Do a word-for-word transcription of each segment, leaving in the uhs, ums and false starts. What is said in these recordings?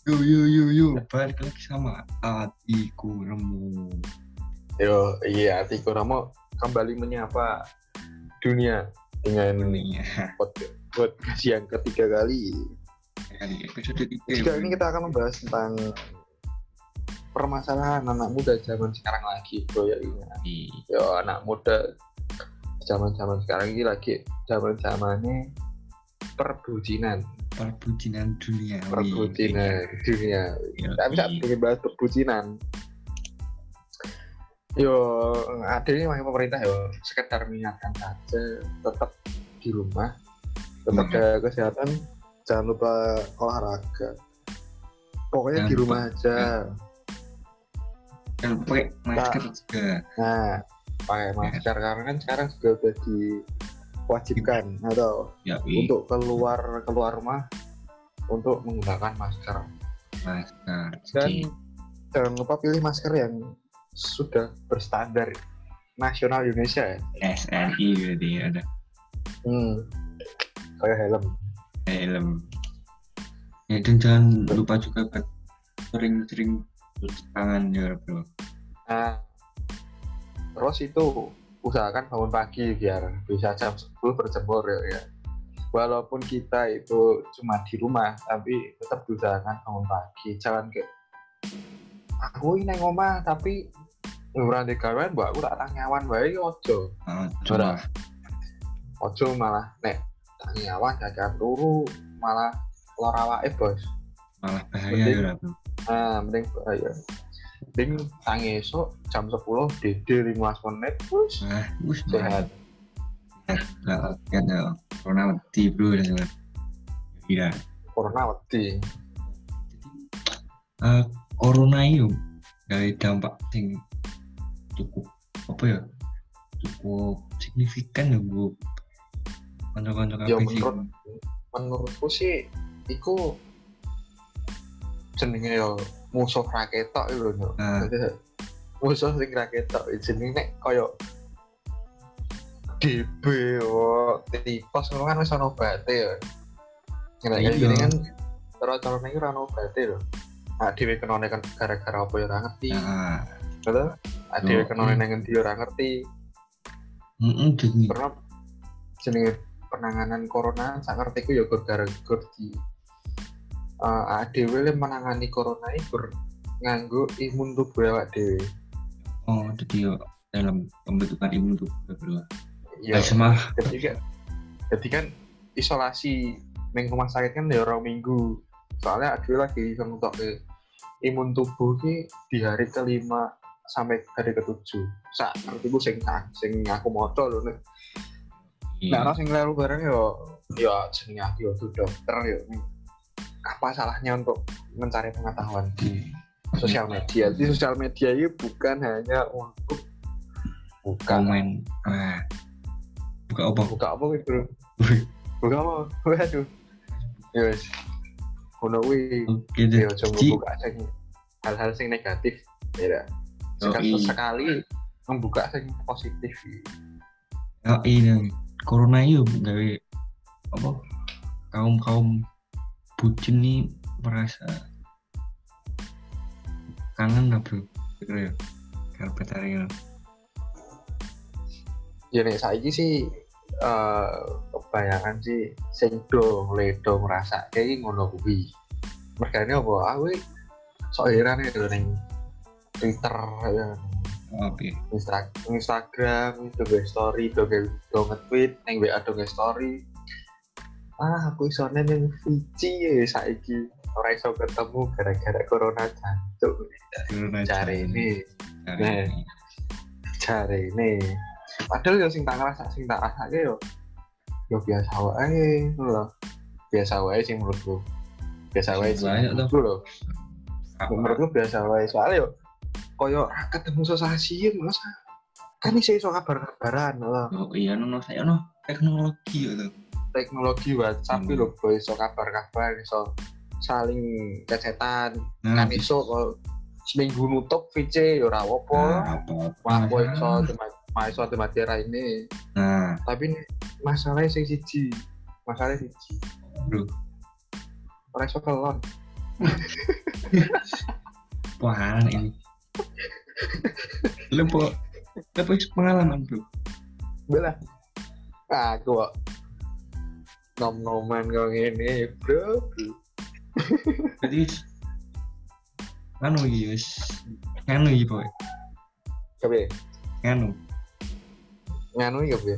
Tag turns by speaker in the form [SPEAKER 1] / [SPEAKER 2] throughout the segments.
[SPEAKER 1] Yo yo yo yo, balik lagi sama hatiku nemu.
[SPEAKER 2] Yo, iya, Tiko Ramo kembali menyapa dunia dengan
[SPEAKER 1] Dunia.
[SPEAKER 2] podcast podcast yang ketiga kali.
[SPEAKER 1] Kali episode tiga.
[SPEAKER 2] Jika ini kita akan membahas tentang permasalahan anak muda zaman sekarang lagi, bro ya ini. Yo, anak muda zaman-zaman sekarang ini lagi zaman-zamannya perbucinan.
[SPEAKER 1] Perbucinan dunia.
[SPEAKER 2] Perbucinan dunia. Tapi saat ingin bahas perbucinan. Yo, ada ini makanya pemerintah yo sekedar mengingatkan saja, tetap di rumah, tetap jaga kesehatan, jangan lupa olahraga. Pokoknya jangan di rumah lupa. aja.
[SPEAKER 1] Jangan pakai masker nah, juga.
[SPEAKER 2] Nah, pakai masker karena kan sekarang juga udah diwajibkan atau
[SPEAKER 1] ya,
[SPEAKER 2] untuk keluar keluar rumah untuk menggunakan masker.
[SPEAKER 1] Masker.
[SPEAKER 2] Dan jangan lupa pilih masker yang sudah berstandar nasional Indonesia ya.
[SPEAKER 1] S N I berarti ada.
[SPEAKER 2] Hmm. Kayak helm.
[SPEAKER 1] Helm. Ya dan jangan lupa juga buat sering-sering cuci tangan ya bro.
[SPEAKER 2] Nah, terus itu usahakan bangun pagi biar bisa jam sepuluh berjemur ya, ya. Walaupun kita itu cuma di rumah, tapi tetap usahakan bangun pagi. Jangan kayak aku ini ngomah tapi ngurang di kawan, mbak aku tak tanyawan baik ojo.
[SPEAKER 1] Coba.
[SPEAKER 2] Ojo malah nek tanyawan jajan turu malah lor awake bos.
[SPEAKER 1] Malah bahaya ya bro.
[SPEAKER 2] Nah, mending bahaya. Mending tangi esok jam sepuluh D D lima belas menit terus.
[SPEAKER 1] Nah, wis
[SPEAKER 2] sehat.
[SPEAKER 1] Lah, kan ya. Corona wedi bro dan iya.
[SPEAKER 2] Corona wedi.
[SPEAKER 1] Jadi uh, corona itu dari dampak sing cukup apa ya cukup signifikan ya bu kanca-kanca
[SPEAKER 2] ya menurut menurutku sih iku jenenge yo musuh raketok itu lho nah. Musuh sing raketok jenenge nek koyo D B yo tipes ngono kan wis ono obate ya nek iki kan cara-carane iki ora ono obate lho ah dhewe kenone kan gara-gara apa ya ora ngerti
[SPEAKER 1] nah
[SPEAKER 2] betul adewe kenone nang endi ora ngerti.
[SPEAKER 1] Heeh, jadi
[SPEAKER 2] karena jenenge penanganan corona sak ngertiku ya gara-gara di uh, adewe le menangani corona iku nganggo imun tubuh awak dhewe.
[SPEAKER 1] Oh, jadi yo dalam pembentukan imun tubuh bro.
[SPEAKER 2] Iya. Ketika ketika kan isolasi ning rumah sakit kan ya orang minggu. Soalnya adewe lagi ngentokke imun tubuh ki di hari kelima sampai hari ketujuh. Sak artiku sing sing aku moco lho nek. Nek ana sing lelu bareng yo yo jenenge aku yo dokter yo. Apa salahnya untuk mencari pengetahuan di sosial media? Di sosial media ini bukan hanya untuk buka
[SPEAKER 1] main ah buka apa?
[SPEAKER 2] Buka apa gitu. Buka apa? Waduh. Yes. Ono wi. Yo coba buka sing hal-hal sing negatif ya. Sekali sekali membuka yang positif.
[SPEAKER 1] Ya ini corona itu gawe apa kaum kaum bucin nih merasa kangen lah bro, kira ya karpet hari ini.
[SPEAKER 2] Ya nih saiki sih uh, kebayangan sih sing do ledo merasa kayak ngono kuwi. Mergane apa? Aku sok heran ya ning Twitter ya.
[SPEAKER 1] Oke. Okay.
[SPEAKER 2] Insta- Instagram, doge story, doge doge tweet, neng W A doge story. Ah, aku iso neng Fiji ya saiki. Ora iso ketemu gara-gara corona jancuk. Cari ini. Nah, cari ini. Padahal yo sing tak ngrasa sing tak rasake yo yo biasa wae lho. Biasa wae sing menurutku. Biasa wae sih lho. Menurutku biasa wae soalnya yo koyo ketemu sosialisasi mas kan iso iso kabar-kabaran lho.
[SPEAKER 1] Oh iya no saya no teknologi gitu.
[SPEAKER 2] Teknologi WhatsApp hmm. lho bro iso kabar-kabar iso saling cecetan nah, kan iso kok seminggu nutup V C ya ora apa. Wah kok iso cuma iso mati ra ini. Nah, tapi masalahnya sing siji. Masalahnya siji.
[SPEAKER 1] Bro.
[SPEAKER 2] Ora iso kelon.
[SPEAKER 1] Wah, ini. Lepo, lepo pengalaman bro.
[SPEAKER 2] Belah. Aku kok nom-noman kok ngene, bro.
[SPEAKER 1] Jadi anu iki wis nganu iki pokoke.
[SPEAKER 2] Kepiye?
[SPEAKER 1] Nganu,
[SPEAKER 2] Nganu iki kepiye?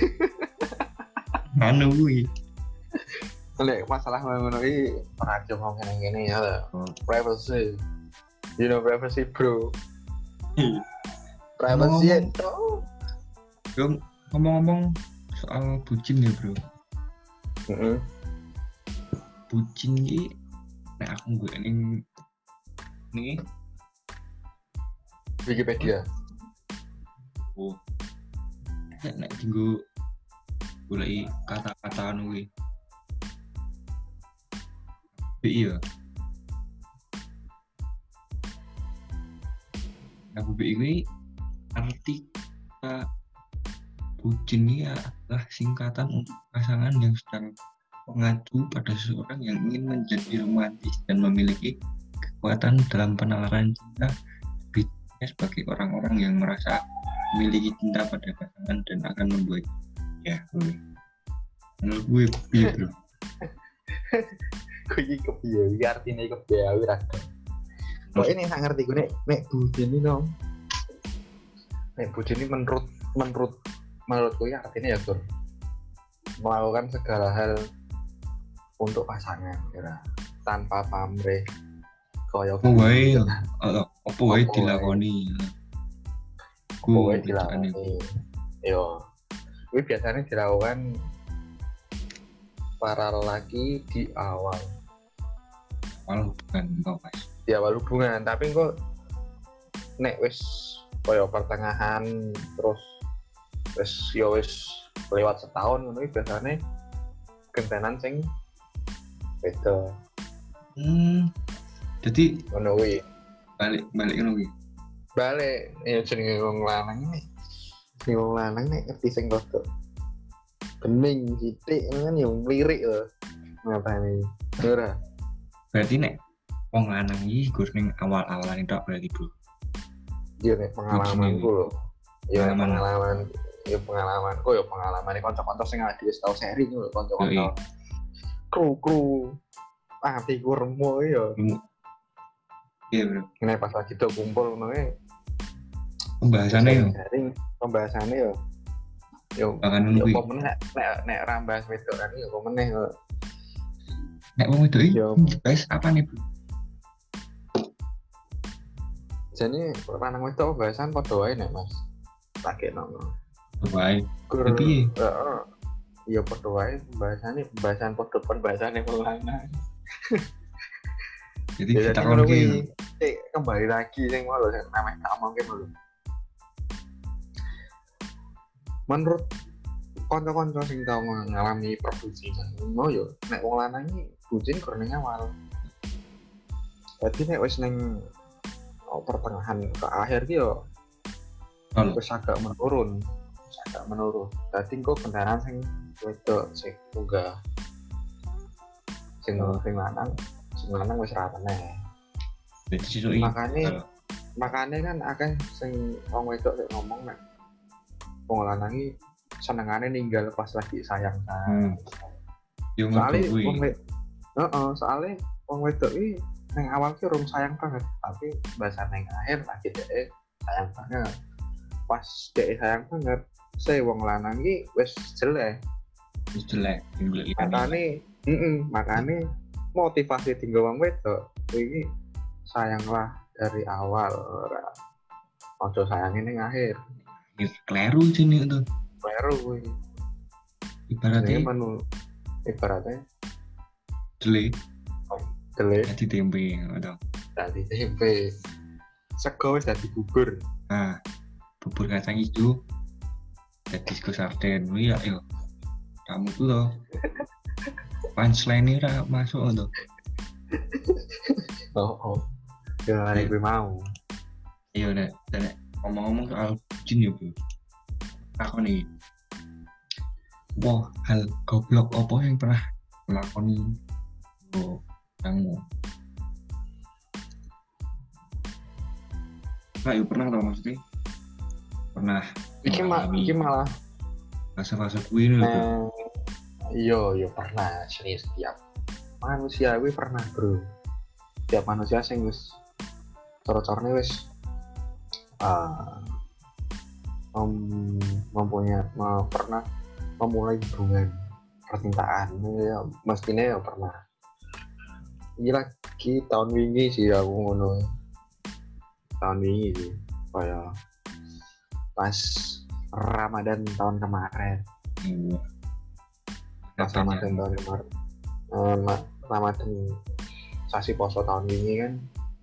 [SPEAKER 1] nganu kuwi.
[SPEAKER 2] Nek masalah ngono iki ora aja ngomong ngene ya.
[SPEAKER 1] Oh.
[SPEAKER 2] Privacy. You know privacy, bro.
[SPEAKER 1] Iya.
[SPEAKER 2] Privacy
[SPEAKER 1] Ngomong-
[SPEAKER 2] itu.
[SPEAKER 1] Bro, ngomong-ngomong soal bucin ya bro.
[SPEAKER 2] Heeh.
[SPEAKER 1] Bucin iki nek aku gue ning nih
[SPEAKER 2] Wikipedia.
[SPEAKER 1] oh nek nek tinggu goleki kata-kata anu kuwi. Iya. Aku B I kuwi arti kata bucin ini adalah singkatan untuk pasangan yang sedang mengacu pada seseorang yang ingin menjadi romantis dan memiliki kekuatan dalam penalaran cinta, lebihnya sebagai orang-orang yang merasa memiliki cinta pada pasangan dan akan membuat ya gue menurut gue iya bro.
[SPEAKER 2] Kuwi kepiye? Iki artine kepiye aku ra. Kok ini sak ngerti gue nek nek bucin ini dong. Nek bucin ini menurut menurut menurutku ya artinya ya Tur, melakukan segala hal untuk pasangan kira tanpa pamrih koyo
[SPEAKER 1] Apa wae apa wae
[SPEAKER 2] Apa
[SPEAKER 1] dilakoni.
[SPEAKER 2] kowe
[SPEAKER 1] Ku
[SPEAKER 2] dilakoni. Yo. Kuwi biasanya dilakukan para lelaki di awal
[SPEAKER 1] awal bukan kau mas.
[SPEAKER 2] di awal hubungan, tapi kok nek wis koyo pertengahan terus wis yo wis lewat setahun ngono iki biasane gentenan sing beda
[SPEAKER 1] Hmm. Jadi
[SPEAKER 2] ngono kuwi.
[SPEAKER 1] balik balik ngono kuwi.
[SPEAKER 2] Balik ya jenenge wong lanang iki. Sing wong lanang nek ngerti sing rada bening sithik kan yo mlirik lho. Ngapane? Ora.
[SPEAKER 1] Berarti nek wong lanang iki gur ning awal-awalan itu berarti bro.
[SPEAKER 2] Yo nek pengalamanku lho. Ya
[SPEAKER 1] Pengalaman.
[SPEAKER 2] pengalaman ya pengalamanku ya pengalaman kanca-kanca sing awake dhewe tau sharing lho kanca-kanca.
[SPEAKER 1] Yoi.
[SPEAKER 2] Kru-kru ati ku remo ya.
[SPEAKER 1] Iya bro.
[SPEAKER 2] Nek pas lagi do kumpul ngono e
[SPEAKER 1] Pembahasannya yo
[SPEAKER 2] sharing pembahasannya yo yo
[SPEAKER 1] bahkan
[SPEAKER 2] yo
[SPEAKER 1] kuwi.
[SPEAKER 2] apa meneh nek nek nek rambas wedok kan yo apa meneh yo.
[SPEAKER 1] Nek wong itu iki
[SPEAKER 2] Yo.
[SPEAKER 1] guys apa nih bro?
[SPEAKER 2] Jane lanang wedok pembahasan padha wae nek Mas. Tak kena.
[SPEAKER 1] Baik.
[SPEAKER 2] Gur
[SPEAKER 1] Tapi
[SPEAKER 2] heeh. Ya padha wae pembahasannya pembahasan padha pembahasannya wong lanang.
[SPEAKER 1] jadi
[SPEAKER 2] Ya
[SPEAKER 1] kita
[SPEAKER 2] jadi ngono
[SPEAKER 1] kon
[SPEAKER 2] kuwi.
[SPEAKER 1] ki
[SPEAKER 2] Eh kembali lagi sing mau lho sing namanya tak omongke lho. Menurut kanca-kanca sing tau ngalami perbucinan, ngono yo nek wong lanang iki bucin kurang awal. Dadi nek wis ning oh, pertengahan ke akhir ki yo
[SPEAKER 1] kalau
[SPEAKER 2] wis agak menurun, wis agak menurun. Dadi engko kendaraan sing wedok sing munggah. Sing sing lanang, sing lanang wis ra meneh.
[SPEAKER 1] jadi situ iki.
[SPEAKER 2] Makane makane kan akeh sing wong wedok sing ngomong nek wong lanang iki senengane ninggal pas lagi sayang
[SPEAKER 1] Hmm.
[SPEAKER 2] sayang.
[SPEAKER 1] Yo
[SPEAKER 2] Soale
[SPEAKER 1] ngono kuwi.
[SPEAKER 2] wong wedok heeh, soale wong wedok iki nang awal ki urung sayang banget, tapi bahasa nang akhir lagi dhek sayang banget. Pas dhek sayang banget, se wong lanang iki wis jelek.
[SPEAKER 1] Wis jelek tinggal iki.
[SPEAKER 2] Makane, heeh, makane motivasi tinggal wong wedok iki sayanglah dari awal ora. Ojo sayangin ning akhir.
[SPEAKER 1] Kleru sini itu.
[SPEAKER 2] Baru kuwi.
[SPEAKER 1] Ibaratnya
[SPEAKER 2] menu ibaratnya
[SPEAKER 1] jelek
[SPEAKER 2] jelek
[SPEAKER 1] jadi tempe atau
[SPEAKER 2] dadi tempe. Sego wis dadi bubur.
[SPEAKER 1] nah bubur kacang hijau jadi sego sarden iya yo kamu tuh loh punchline ini ra masuk tuh.
[SPEAKER 2] Oh, oh. Ya nek kuwi mau.
[SPEAKER 1] Iya nek nek ngomong-ngomong soal bucin ya bro aku nih wah hal goblok apa yang pernah melakoni oh kamu Nah, ya pernah tau maksudnya pernah
[SPEAKER 2] Iki mah
[SPEAKER 1] mengalami
[SPEAKER 2] iki malah
[SPEAKER 1] fase-fase kuwi lho bro.
[SPEAKER 2] eh iya iya pernah serius setiap manusia kuwi pernah bro. Setiap manusia sing wis coro-corone wis uh, mem, mempunyai me, pernah memulai hubungan percintaan ya mestinya ya pernah. Ini lagi tahun wingi sih aku ngono. Tahun wingi sih kayak pas Ramadan tahun kemarin.
[SPEAKER 1] Oh.
[SPEAKER 2] Pas Ramadan tahun kemarin. Eh, Ramadan sasi poso tahun wingi kan.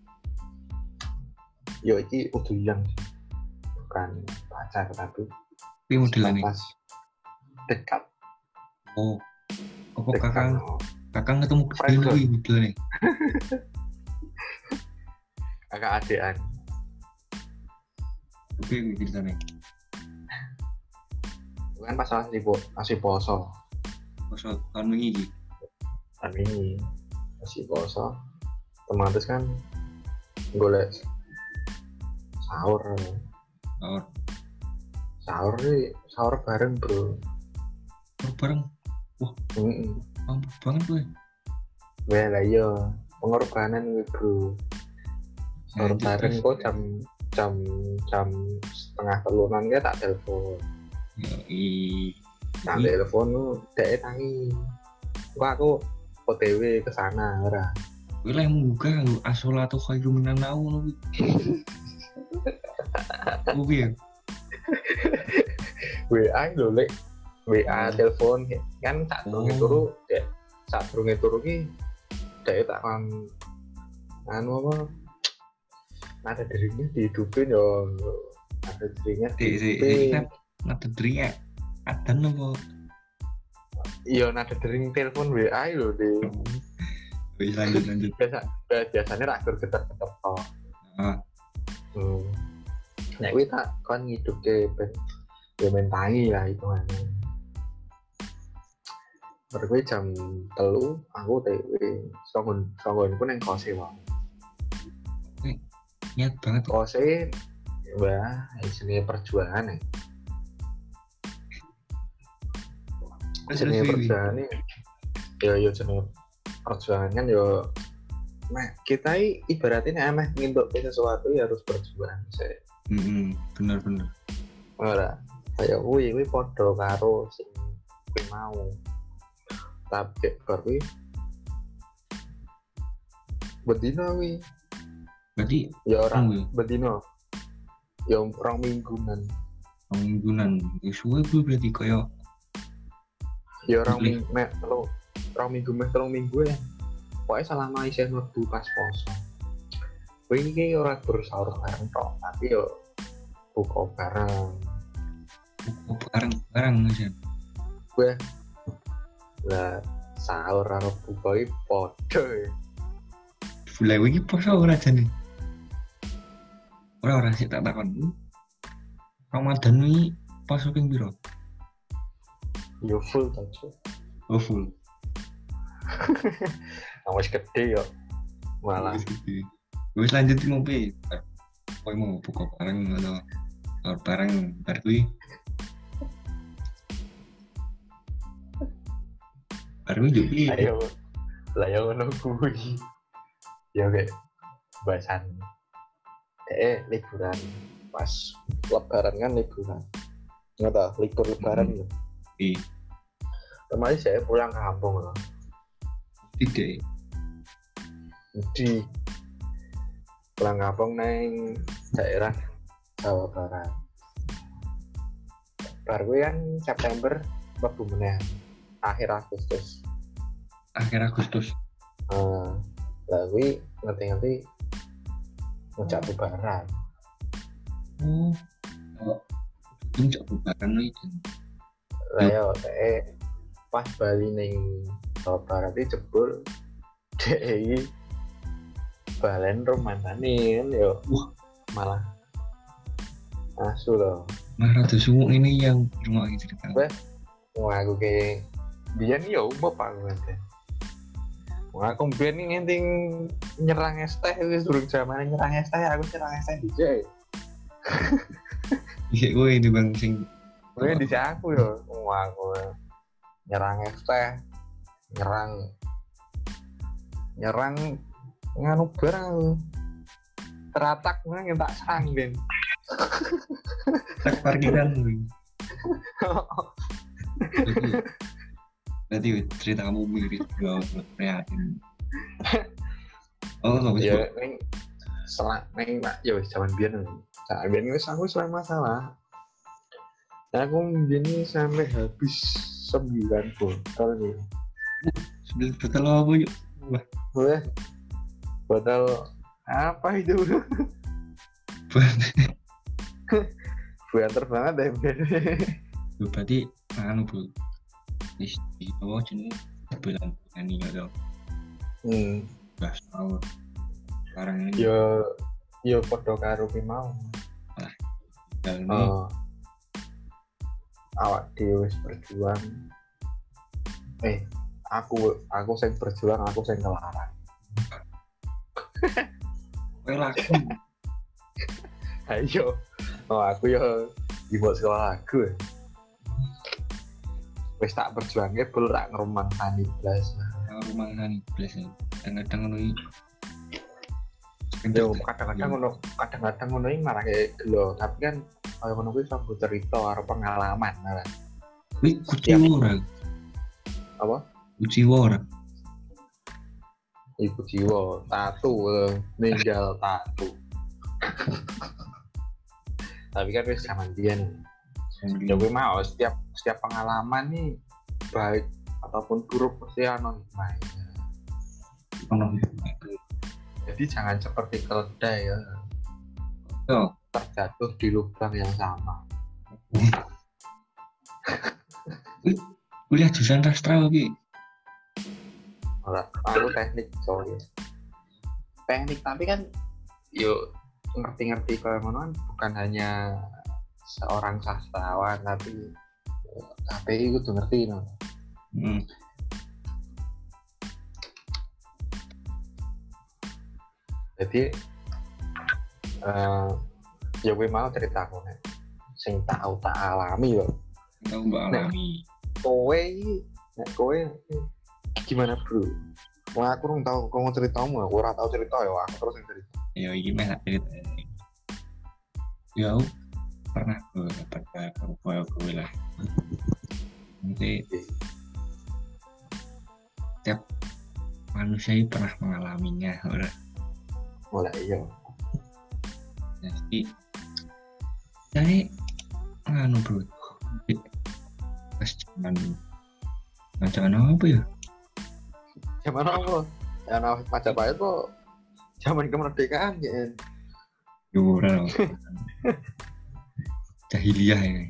[SPEAKER 2] Yo iki udah yang bukan pacar tapi
[SPEAKER 1] Tapi modelan nih.
[SPEAKER 2] pas dekat.
[SPEAKER 1] Oh. Apa
[SPEAKER 2] Dekat,
[SPEAKER 1] kakang
[SPEAKER 2] oh.
[SPEAKER 1] kakang ketemu
[SPEAKER 2] Friend
[SPEAKER 1] gede lagi modelan nih.
[SPEAKER 2] Kakak adean.
[SPEAKER 1] Oke ceritanya.
[SPEAKER 2] Kan pas masih po, masih poso.
[SPEAKER 1] Poso tahun wingi iki.
[SPEAKER 2] Tahun wingi masih poso. Otomatis kan golek sahur.
[SPEAKER 1] Sahur.
[SPEAKER 2] Sahur nih, sahur bareng bro.
[SPEAKER 1] Sahur bareng. Wah,
[SPEAKER 2] Heeh.
[SPEAKER 1] mampu banget gue.
[SPEAKER 2] Wah lah iya, pengorbanan gue bro. Sahur
[SPEAKER 1] Lanjut,
[SPEAKER 2] bareng
[SPEAKER 1] terus.
[SPEAKER 2] kok jam jam jam setengah telunan ya tak telepon.
[SPEAKER 1] Ya, i.
[SPEAKER 2] Tak telepon lu, dek tangi. Wah aku O T W ke sana ora.
[SPEAKER 1] Gue lah yang membuka lu asolatu khairum minan naum lu. Gue ya.
[SPEAKER 2] W A lho lek W A
[SPEAKER 1] Hmm.
[SPEAKER 2] telepon kan tak
[SPEAKER 1] Oh.
[SPEAKER 2] durunge turu dek sak durunge turu ki dek tak kan anu apa ada dirinya dihidupin yo ada dirinya
[SPEAKER 1] Dek, dek,
[SPEAKER 2] dihidupin
[SPEAKER 1] kan nada dria. Ada nopo.
[SPEAKER 2] iya nada dering telepon W A lho di
[SPEAKER 1] Wis lanjut lanjut.
[SPEAKER 2] biasa biasanya rak getar-getar tok
[SPEAKER 1] Ah,
[SPEAKER 2] hmm. Nek kuwi tak kon ngidupke ben ya mentangi lah hitungannya. Berkuwi jam telu aku T W songgon songgonku nang kose wae.
[SPEAKER 1] niat banget kok.
[SPEAKER 2] Kose wah jenenge perjuangan ya. Jenenge perjuangan nih. Yo yo jenenge perjuangan kan yo nah kita ibaratnya emeh ngintuk sesuatu ya harus berjuang sih.
[SPEAKER 1] Heeh, bener-bener.
[SPEAKER 2] Ora kayak kuwi kuwi padha karo sing kuwi mau. Tapi bar kuwi bedino kuwi
[SPEAKER 1] Berarti
[SPEAKER 2] ya ora
[SPEAKER 1] Hmm.
[SPEAKER 2] bedino. Ya rong mingguan.
[SPEAKER 1] mingguan. Ya suwe gue berarti kayak
[SPEAKER 2] Ya rong
[SPEAKER 1] Pilih.
[SPEAKER 2] minggu mek telu rong minggu mek telung minggu ya. Pokoknya selama isih mlebu pas poso. Kuwi iki ora bersahur bareng tok, tapi yo buka bareng.
[SPEAKER 1] buku bareng-bareng aja.
[SPEAKER 2] Lah sahur karo buka iki padha ya.
[SPEAKER 1] Mulai iki poso ora jane. Ora ora sik tak takon. Ramadan iki poso ping piro?
[SPEAKER 2] Yo full ta Cuk.
[SPEAKER 1] Oh full.
[SPEAKER 2] Nah, wis gede yo. Malah
[SPEAKER 1] Wis gede. Wis lanjut ngopi. Kowe mau buka bareng atau sahur bareng bar kuwi. Bar kuwi yo piye?
[SPEAKER 2] ayo lah yo ngono kuwi. Ya kayak bahasan eh liburan pas lebaran kan liburan. Enggak tahu libur lebaran
[SPEAKER 1] Hmm.
[SPEAKER 2] lho.
[SPEAKER 1] Di
[SPEAKER 2] Kemarin saya pulang kampung loh.
[SPEAKER 1] tiga.
[SPEAKER 2] Di pulang kampung neng daerah Jawa Barat. Baru kan September mlebu meneh akhir Agustus.
[SPEAKER 1] Akhir Agustus.
[SPEAKER 2] Uh, lah kuwi ngerti-ngerti ngejak lebaran.
[SPEAKER 1] Oh. Oh. Itu jak bubaran iki.
[SPEAKER 2] Lah yo teh pas bali ning Jawa Barat iki jebul D I balen romantane kan yo.
[SPEAKER 1] Wah.
[SPEAKER 2] Malah asu loh.
[SPEAKER 1] Nah, rada sumu ini yang rumah iki cerita.
[SPEAKER 2] Wah. Wah aku ke biyen yo umum aku kan. Wah aku biyen ngenting nyerang es teh wis durung jamane nyerang es teh aku nyerang es teh dijak.
[SPEAKER 1] Iya gue ini bang sing.
[SPEAKER 2] Gue di aku yo, wah gue nyerang F T, nyerang nyerang nganu barang teratak gue yang tak serang ben.
[SPEAKER 1] Tak parkiran gue. Berarti cerita kamu mirip gue prihatin. Oh nggak bisa.
[SPEAKER 2] Ya neng selang neng mak ya wis zaman biyen. Zaman biyen wis aku selama masalah. Aku begini sampai habis sembilan botol nih.
[SPEAKER 1] Sembilan botol apa yuk? Wah.
[SPEAKER 2] Wah. Botol apa itu? Banter banget deh.
[SPEAKER 1] Berarti anu bu. Di bawah jenis bulan ini nggak tahu.
[SPEAKER 2] Hmm.
[SPEAKER 1] Gas tahun. Sekarang ini.
[SPEAKER 2] Yo yo podo karo ki mau.
[SPEAKER 1] Nah. Dan ini.
[SPEAKER 2] Oh. Awak dhewe wis berjuang. Eh, aku aku sing berjuang, aku sing kelarang.
[SPEAKER 1] Kowe laku.
[SPEAKER 2] Ayo. Oh, aku yo dibuat sekolah aku. Wis tak berjuangnya bel rak ngrumang tani blas.
[SPEAKER 1] Rumah tani blas. Kadang-kadang ngono iki.
[SPEAKER 2] Yo kadang-kadang ngono, kadang-kadang ngono iki malah kayak gelo, tapi kan kalau ngono kuwi sambil cerita karo pengalaman malah.
[SPEAKER 1] Wih, kuciwa ora.
[SPEAKER 2] Apa?
[SPEAKER 1] Kuciwa ora.
[SPEAKER 2] Ibu jiwa, tatu, ninggal tatu. Tapi kan wis zaman biyen. Ya gue mau setiap setiap pengalaman nih baik ataupun buruk pasti ono hikmahnya.
[SPEAKER 1] Ono.
[SPEAKER 2] Jadi jangan seperti keledai ya.
[SPEAKER 1] Yo,
[SPEAKER 2] Terjatuh di lubang yang sama.
[SPEAKER 1] wih, kuliah jurusan sastra iki.
[SPEAKER 2] Ora, aku teknik sorry. Teknik tapi kan yuk ngerti-ngerti kalau ngono bukan hanya seorang sastrawan tapi K P I kudu ngerti no.
[SPEAKER 1] Hmm.
[SPEAKER 2] Jadi uh, ya gue mau cerita aku nih sing tahu tak alami yo.
[SPEAKER 1] Tahu mbak alami.
[SPEAKER 2] Kowe nek kowe gimana bro? Wah aku belum tahu kau mau ceritamu, aku ora tahu cerita ya, aku terus yang cerita.
[SPEAKER 1] Ya iki meh cerita. Ya pernah gue dapat kayak gue lah. Nanti setiap manusia ini pernah mengalaminya, orang.
[SPEAKER 2] Mulai iya.
[SPEAKER 1] Jadi, jadi anu bro, pas zaman zaman apa ya?
[SPEAKER 2] Zaman apa? Zaman Majapahit kok zaman kemerdekaan ya.
[SPEAKER 1] Yuran, jahiliyah ini.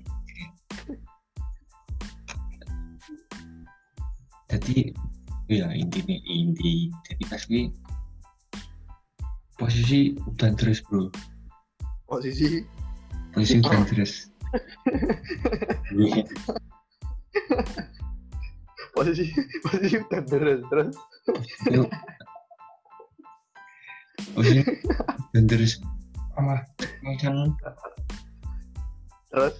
[SPEAKER 1] Jadi, ya intinya inti. Jadi pas gue posisi udan terus bro.
[SPEAKER 2] Posisi
[SPEAKER 1] Posisi udan terus.
[SPEAKER 2] posisi posisi udah terus terus
[SPEAKER 1] Yuk. Posisi udan terus. Apa? Macam
[SPEAKER 2] terus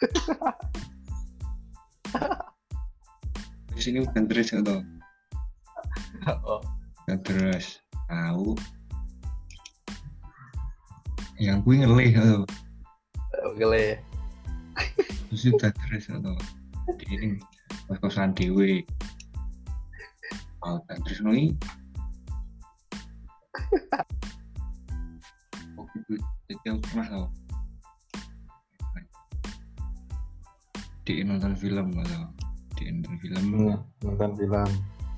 [SPEAKER 1] di sini udan terus atau?
[SPEAKER 2] oh
[SPEAKER 1] Udan terus. Tahu. Yang gue ngelih atau?
[SPEAKER 2] gele
[SPEAKER 1] Terus udan terus atau? Di ini pas kosan dewe. Oh, udan terus nih. Oke, jadi aku pernah tau. Di nonton film atau di nonton film
[SPEAKER 2] hmm, nonton film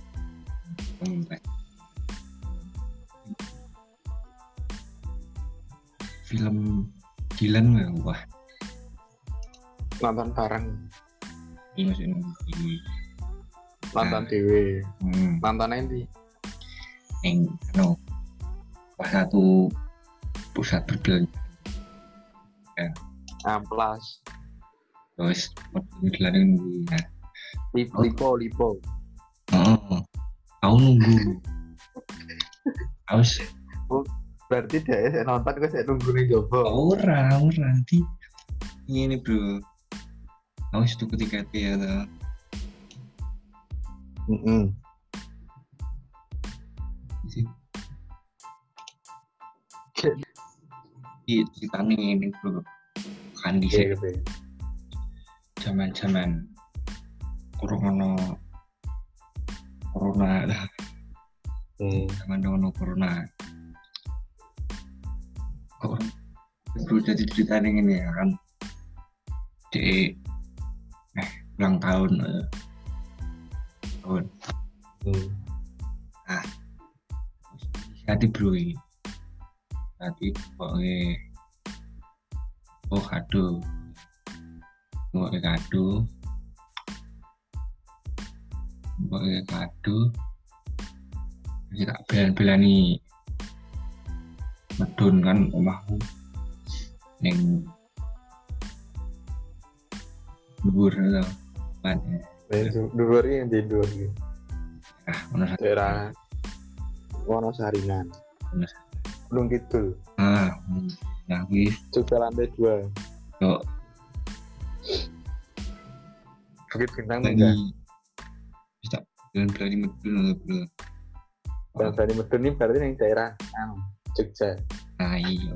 [SPEAKER 1] film Dylan nggak wah
[SPEAKER 2] nonton bareng
[SPEAKER 1] ini maksudnya ini
[SPEAKER 2] nonton dewe
[SPEAKER 1] hmm,
[SPEAKER 2] nonton nanti
[SPEAKER 1] yang no pas satu pusat berbelanja ya
[SPEAKER 2] amplas
[SPEAKER 1] terus mobil nunggu ya
[SPEAKER 2] lipo lipo
[SPEAKER 1] oh aku nunggu harus
[SPEAKER 2] Berarti dia saya nonton kok saya nunggu nih jopo.
[SPEAKER 1] Ora, ora nanti ini bro. Aku itu ketika ya tuh.
[SPEAKER 2] Heeh.
[SPEAKER 1] Sih. Iya ceritanya ini bro. Kan di
[SPEAKER 2] Iya gitu.
[SPEAKER 1] zaman-zaman corona corona lah.
[SPEAKER 2] Hmm.
[SPEAKER 1] Zaman dulu corona. Kok bro jadi ceritanya ini ya kan. Di eh ulang tahun eh. tahun.
[SPEAKER 2] Hmm.
[SPEAKER 1] Ah. Hati bro ini. Hati pokoknya oh kado pokoknya kado pokoknya kado kita belan-belani medun kan omahku neng dhuwur lho kan
[SPEAKER 2] Dua hari yang tidur gitu.
[SPEAKER 1] ah ono
[SPEAKER 2] Daerah Wonosaringan. Gunung Kidul.
[SPEAKER 1] ah nah wis
[SPEAKER 2] Juga lantai dua.
[SPEAKER 1] yo
[SPEAKER 2] Bukit Bintang enggak?
[SPEAKER 1] lagi bisa belan-belani medun lho bro.
[SPEAKER 2] Dan dari Medun ini berarti yang daerah anu Jogja.
[SPEAKER 1] Nah iya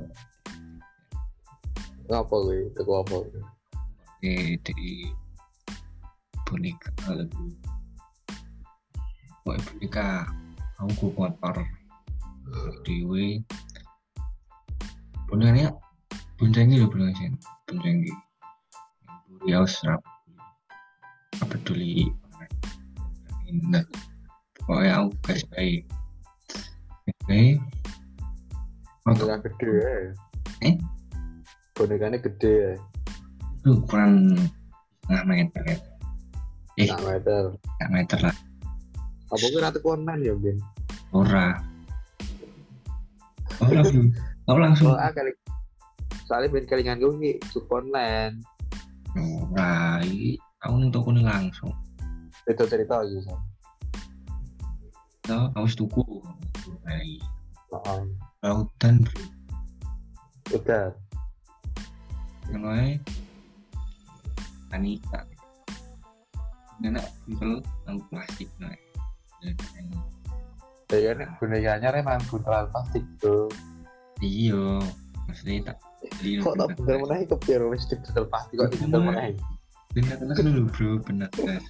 [SPEAKER 2] Ngapa gue? Itu apa?
[SPEAKER 1] eh di boneka lebih pokoknya boneka aku gue motor dewe bonekanya boncengi loh boncengi boncengi ya serap apa peduli nah pokoknya aku guys baik baik
[SPEAKER 2] Boneka gede ya.
[SPEAKER 1] Eh?
[SPEAKER 2] Bonekanya gede ya.
[SPEAKER 1] itu ukuran setengah meter ya eh
[SPEAKER 2] Setengah meter.
[SPEAKER 1] setengah meter lah
[SPEAKER 2] Apa gue ratu konan ya Ben?
[SPEAKER 1] ora oh langsung oh langsung
[SPEAKER 2] Oh ah kali. Soalnya Ben kelingan gue ki Sukonland.
[SPEAKER 1] ora iki aku ning toko nih langsung
[SPEAKER 2] Itu cerita aja sih.
[SPEAKER 1] so aku wis tuku bayi
[SPEAKER 2] Heeh.
[SPEAKER 1] lautan bro
[SPEAKER 2] Udah.
[SPEAKER 1] ngono ae panika enak buntel nang plastik nah
[SPEAKER 2] Ya kan bonekanya emang buntelan plastik tuh.
[SPEAKER 1] iya maksudnya tak beli
[SPEAKER 2] Kok tak buntel menahi kepiye wis buntel plastik kok buntel menahi.
[SPEAKER 1] bener bener dulu bro bener guys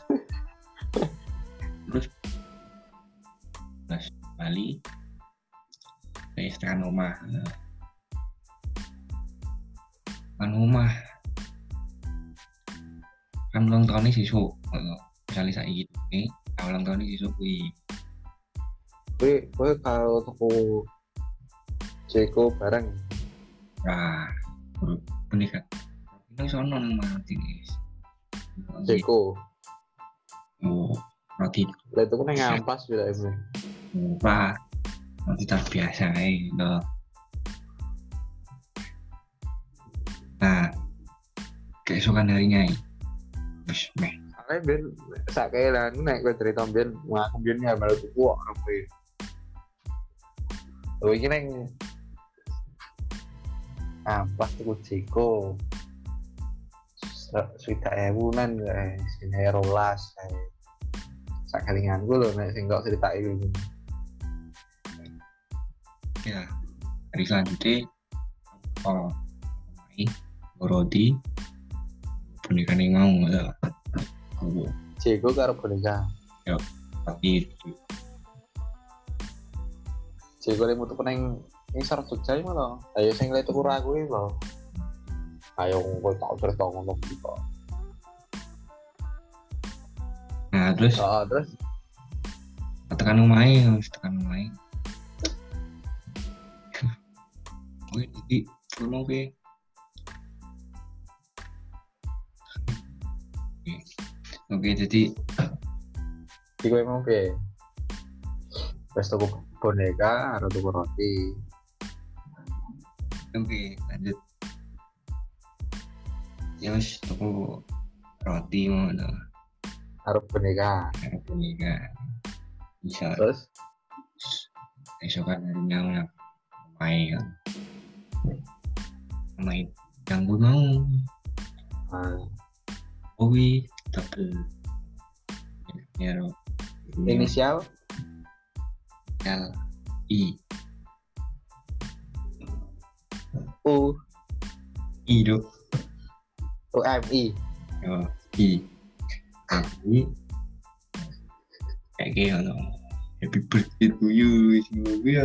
[SPEAKER 1] terus pas Bali saya setengah rumah kan rumah kan ulang tahun ini sisuk misalnya saya gitu nih ulang tahun ini sisuk wih
[SPEAKER 2] Gue gue kalau toko Jeko bareng.
[SPEAKER 1] nah boneka ini sono nang mati guys
[SPEAKER 2] Jeko.
[SPEAKER 1] oh roti
[SPEAKER 2] Lah itu kan ngampas bila itu.
[SPEAKER 1] murah roti terbiasa eh loh nah keesokan harinya wis meh
[SPEAKER 2] Soalnya Ben sakit lah nek gue cerita Ben ngaku Ben ya malah tuh kok ngapain. Lo ini neng ampas tuh Jeko. Sudah ewunan guys, sini rolas guys. Sakalingan gue loh nek sing gak cerita ini.
[SPEAKER 1] ya hari selanjutnya oh main roti boneka nih mau nggak aku
[SPEAKER 2] Jeko karo boneka.
[SPEAKER 1] tapi
[SPEAKER 2] Jeko lemu tuh peneng ngisor Jogja ini loh. Ayo sing lihat tuh ragu ini loh. Ayo gue tau cerita ngomong gitu.
[SPEAKER 1] nah terus
[SPEAKER 2] Oh terus
[SPEAKER 1] tekan lumayan harus tekan lumayan oke jadi ngomong ke oke jadi
[SPEAKER 2] di gue mau ke wes tuku boneka atau tuku roti.
[SPEAKER 1] oke lanjut ya wis tuku roti mau dong
[SPEAKER 2] Harus boneka.
[SPEAKER 1] boneka bisa
[SPEAKER 2] Terus
[SPEAKER 1] esokan harinya Pai kan main yang gue mau
[SPEAKER 2] Ah,
[SPEAKER 1] Owi tapi ya
[SPEAKER 2] inisial
[SPEAKER 1] L I
[SPEAKER 2] U
[SPEAKER 1] I dok
[SPEAKER 2] U M I.
[SPEAKER 1] oh I tapi kayak gitu no. Happy birthday to you semoga ya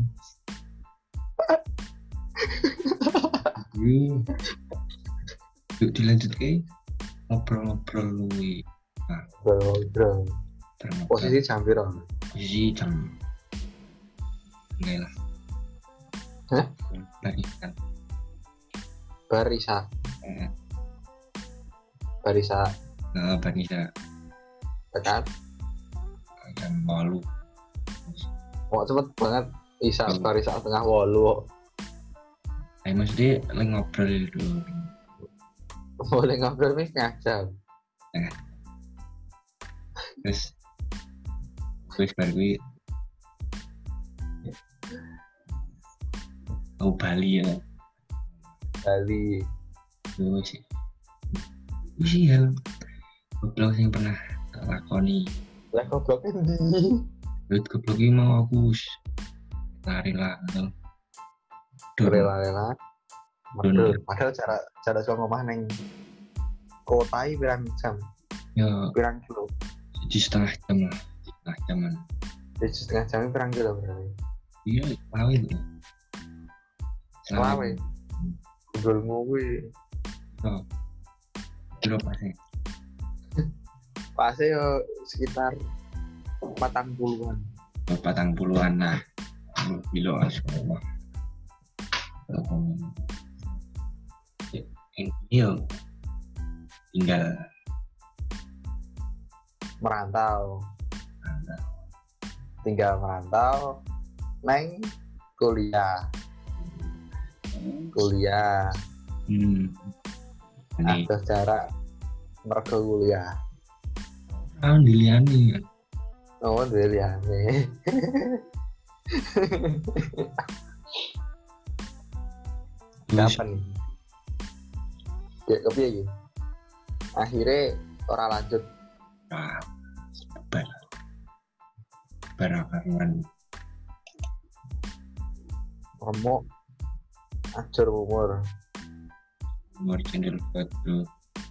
[SPEAKER 1] yuk dilanjut ke ngobrol-ngobrol luwi nah
[SPEAKER 2] Bro, bro.
[SPEAKER 1] terngobrol
[SPEAKER 2] Posisi jam piro?
[SPEAKER 1] posisi jam enggak lah
[SPEAKER 2] Hah?
[SPEAKER 1] barisan
[SPEAKER 2] Barisa,
[SPEAKER 1] eh,
[SPEAKER 2] barisa
[SPEAKER 1] nah barisa
[SPEAKER 2] tekan.
[SPEAKER 1] jam malu
[SPEAKER 2] Kok cepet banget Isa
[SPEAKER 1] Hmm.
[SPEAKER 2] barisa tengah wolu.
[SPEAKER 1] ayo maksudnya lagi ngobrol dulu
[SPEAKER 2] Boleh ngobrol nih setengah jam.
[SPEAKER 1] terus terus baru gue mau Bali ya
[SPEAKER 2] Bali.
[SPEAKER 1] terus itu sih hal goblok yang pernah tak lakoni
[SPEAKER 2] Lah gobloknya ndi?
[SPEAKER 1] duit goblok ini mau aku s- lari lah atau dorong
[SPEAKER 2] Rela-rela.
[SPEAKER 1] Dulu.
[SPEAKER 2] Ngobrol. Padahal cara cara soal ngomah neng kotai pirang jam,
[SPEAKER 1] ya
[SPEAKER 2] pirang kilo.
[SPEAKER 1] jadi setengah jam lah setengah jaman
[SPEAKER 2] Jadi setengah jam pirang kilo berarti.
[SPEAKER 1] iya selawe itu
[SPEAKER 2] Selawe. Ngobrol kuwi.
[SPEAKER 1] oh kilo pasnya
[SPEAKER 2] Pasti yo sekitar patang puluhan.
[SPEAKER 1] patang puluhan nah kilo semua ini yo tinggal
[SPEAKER 2] Merantau. Tinggal merantau neng kuliah. Kuliah.
[SPEAKER 1] hmm ini
[SPEAKER 2] Ada jarak mergo kuliah.
[SPEAKER 1] kan diliani kan
[SPEAKER 2] Oh, kuliah nih. Kapan nih? Ya kepiye iki? Akhirnya ora lanjut.
[SPEAKER 1] nah bar barakaruan
[SPEAKER 2] Remuk ajur umur.
[SPEAKER 1] umur channel batu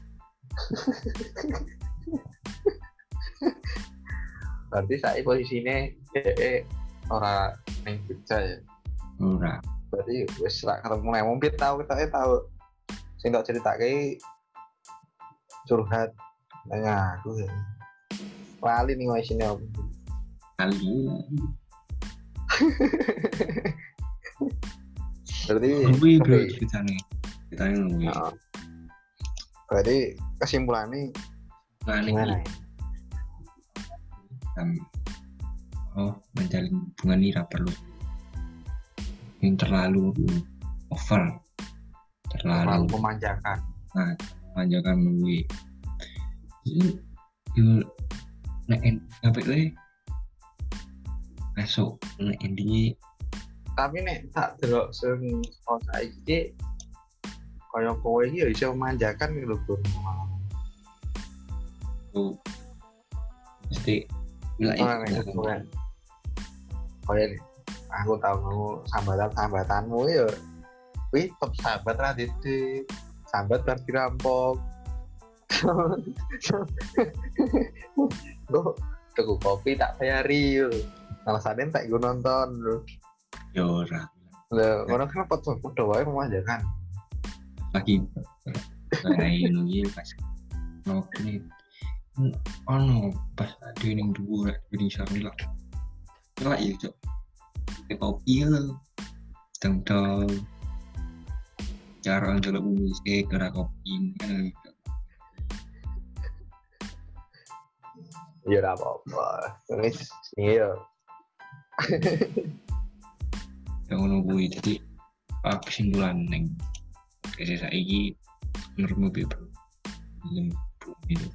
[SPEAKER 2] Berarti saya posisinya eh ora neng Jogja ya.
[SPEAKER 1] ora
[SPEAKER 2] Berarti wis ra ketemu nek mungkin tahu kita tahu. Sing tak ceritake curhat nang aku ya. Lali nih isine apa.
[SPEAKER 1] kali
[SPEAKER 2] Berarti
[SPEAKER 1] lebih bro
[SPEAKER 2] kepi-
[SPEAKER 1] ceritanya ceritanya lebih
[SPEAKER 2] Nah, berarti kesimpulannya
[SPEAKER 1] nah
[SPEAKER 2] gimana
[SPEAKER 1] ini
[SPEAKER 2] ya?
[SPEAKER 1] um, oh menjalin hubungan ini tak perlu yang terlalu over
[SPEAKER 2] Terlalu
[SPEAKER 1] terlalu
[SPEAKER 2] memanjakan.
[SPEAKER 1] nah memanjakan lebih itu itu nek sampai gue masuk nek intinya
[SPEAKER 2] Tapi nek tak delok sing oh saiki kaya kowe iki ya iso memanjakan gitu lho, Bro.
[SPEAKER 1] tuh mesti bilang
[SPEAKER 2] Oh, nek kowe kaya nih, aku tahu kamu sambatan-sambatanmu ya wih tetep sahabat ra didik sambat bar dirampok lo tuku kopi tak bayari lho alasannya tak gue nonton lho
[SPEAKER 1] yora
[SPEAKER 2] lho orang kan foto-foto wae memanjakan
[SPEAKER 1] lagi kayak ini pas no ini ono pas ada yang dua jadi sari lah lah ya cok kayak kopi lah tentang cara untuk musik cara kopi kan
[SPEAKER 2] ya ora apa-apa wis iya
[SPEAKER 1] yang nunggu jadi apa kesimpulan neng kayak saya ini menurutmu bebro gitu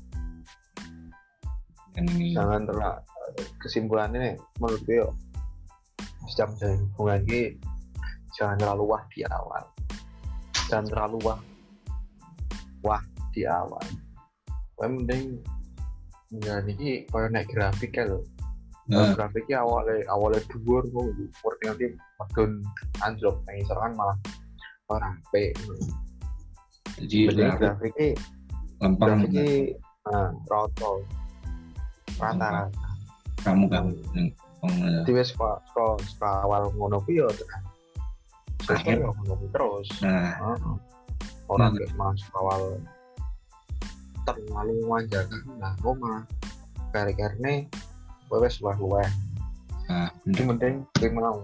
[SPEAKER 1] dan ini
[SPEAKER 2] jangan terlalu kesimpulannya menurut gue yo jam jam hubungan ini jangan terlalu wah di awal jangan terlalu wah wah di awal kowe mending ya niki koyo nek grafik ya lho
[SPEAKER 1] Nah,
[SPEAKER 2] grafiknya awalnya awalnya dhuwur kok umur nanti medun anjlok nang isor kan malah ora apik
[SPEAKER 1] jadi
[SPEAKER 2] jadi
[SPEAKER 1] aku
[SPEAKER 2] grafiknya
[SPEAKER 1] lempeng
[SPEAKER 2] grafiknya nah roto rata-rata
[SPEAKER 1] kamu kamu lempeng
[SPEAKER 2] di wes kok kok awal ngono ku yo tekan akhir ngono ku terus
[SPEAKER 1] nah
[SPEAKER 2] heeh ora kayak masuk awal terlalu manjakan nah kok mah kare-karene wes luweh-luweh
[SPEAKER 1] nah
[SPEAKER 2] ini
[SPEAKER 1] bener
[SPEAKER 2] penting kowe mau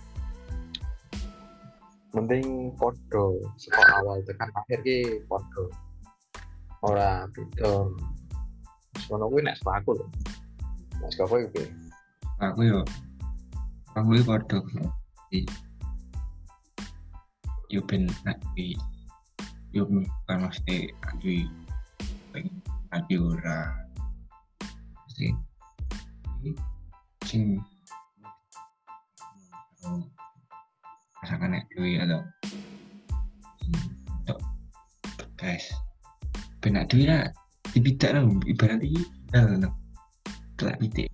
[SPEAKER 2] penting podo saka awal tekan akhir ki podo ora beda sono kuwi nek aku lho nek kowe iki
[SPEAKER 1] aku yo aku yo padha di yo ben nak di yo kan mesti di pengen adi ora mesti sing rasakan nek dewi atau untuk guys benak dewi lah dibidak lah ibarat ini dah telak pitik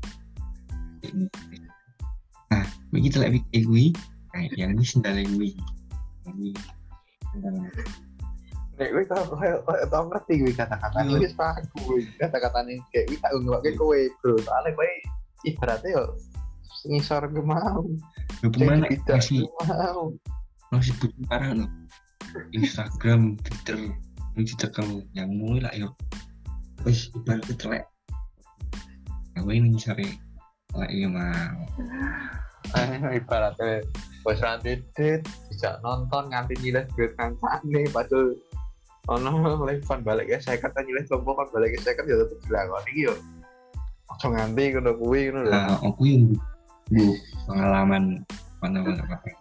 [SPEAKER 1] nah bagi telak pitik gue nah yang ini sendalnya gue ini sendalnya
[SPEAKER 2] nek kowe tau koyo tau ngerti kuwi kata-kata
[SPEAKER 1] Iya.
[SPEAKER 2] wis paham kuwi kata-katane kayak kuwi tak ngomongke kowe bro soalnya kowe ibaratnya yo ngisor ke mau
[SPEAKER 1] lu pemana
[SPEAKER 2] tidak
[SPEAKER 1] masih
[SPEAKER 2] mau
[SPEAKER 1] masih butuh parah loh Instagram Twitter ini ditekan yang mulai lah yuk wis ibaratnya telek aku ini sore telek ini mau
[SPEAKER 2] eh ibaratnya wis ra titit bisa nonton nganti nyileh duit kancane padahal ono levan balik ya saya kata nyileh lompo kan balik ya saya kan ya tetep dilakoni iki yo aja nganti ngono kuwi ngono lho
[SPEAKER 1] nah aku yang bu pengalaman mana-mana apa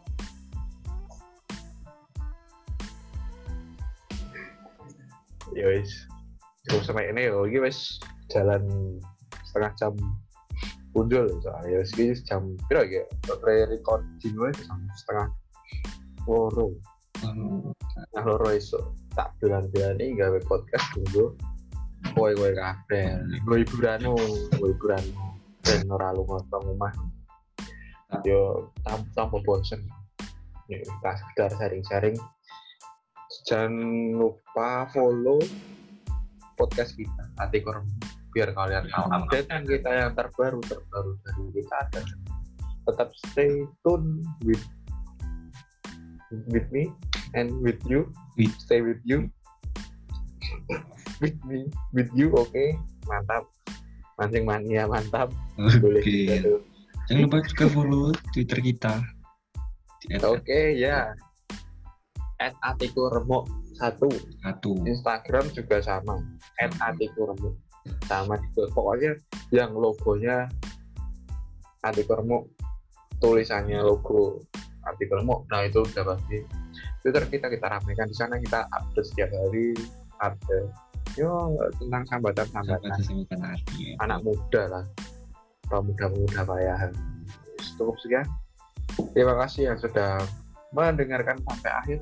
[SPEAKER 2] ya wis terus sampai ini yo iki wis jalan setengah jam punjul soalnya wis iki jam piro ya pre-recording wis setengah loro nah loro iso tak bulan-bulane gawe podcast tunggu kowe kowe kabeh kowe hiburanmu kowe hiburanmu ben ora lunga saka omah yo tanpa bosen nek kita sekedar sharing-sharing jangan lupa follow podcast kita Ati Korem biar kalian tahu update kan kita yang terbaru terbaru dari kita ada tetap stay tune with with me and with you
[SPEAKER 1] With.
[SPEAKER 2] stay with you with me with you oke okay? Mantap mancing mania mantap boleh
[SPEAKER 1] oke
[SPEAKER 2] kita tuh
[SPEAKER 1] jangan lupa juga follow Twitter kita
[SPEAKER 2] oke okay, ya at Atiku Remuk satu
[SPEAKER 1] satu
[SPEAKER 2] Instagram juga sama at Atiku Remuk sama gitu pokoknya yang logonya Atiku Remuk tulisannya logo Atiku Remuk nah itu udah pasti Twitter kita kita ramekan di sana kita update setiap hari update yo tentang sambatan-sambatan
[SPEAKER 1] sambatan hati ya.
[SPEAKER 2] anak muda lah pemuda-pemuda bayahan cukup sekian terima kasih yang sudah mendengarkan sampai akhir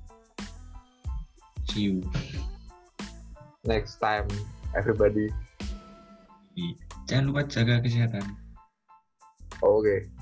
[SPEAKER 1] see you
[SPEAKER 2] next time everybody
[SPEAKER 1] jangan lupa jaga kesehatan
[SPEAKER 2] oke okay.